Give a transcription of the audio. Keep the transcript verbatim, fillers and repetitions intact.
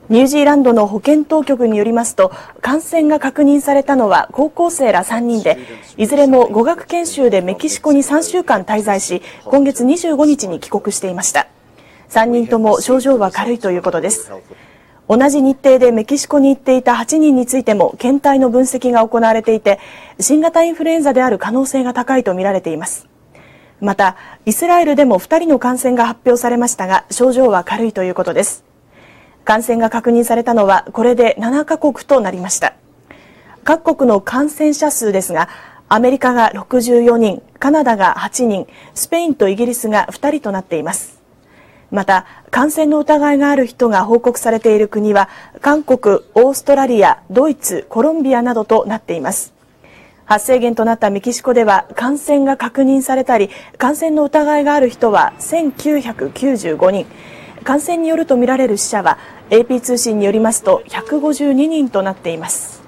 ニュージーランドの保健当局によりますと、感染が確認されたのは高校生らさんにんで、いずれも語学研修でメキシコにさんしゅうかん滞在し、今月にじゅうごにちに帰国していました。さんにんとも症状は軽いということです。同じ日程でメキシコに行っていたはちにんについても検体の分析が行われていて、新型インフルエンザである可能性が高いとみられています。また、イスラエルでもふたりの感染が発表されましたが、症状は軽いということです。感染が確認されたのはこれでななかこくとなりました。各国の感染者数ですが、アメリカがろくじゅうよにん、カナダがはちにん、スペインとイギリスがふたりとなっています。また、感染の疑いがある人が報告されている国は、韓国、オーストラリア、ドイツ、コロンビアなどとなっています。発生源となったメキシコでは、感染が確認されたり、感染の疑いがある人はせんきゅうひゃくきゅうじゅうごにん、感染によるとみられる死者は エーピー 通信によりますとひゃくごじゅうににんとなっています。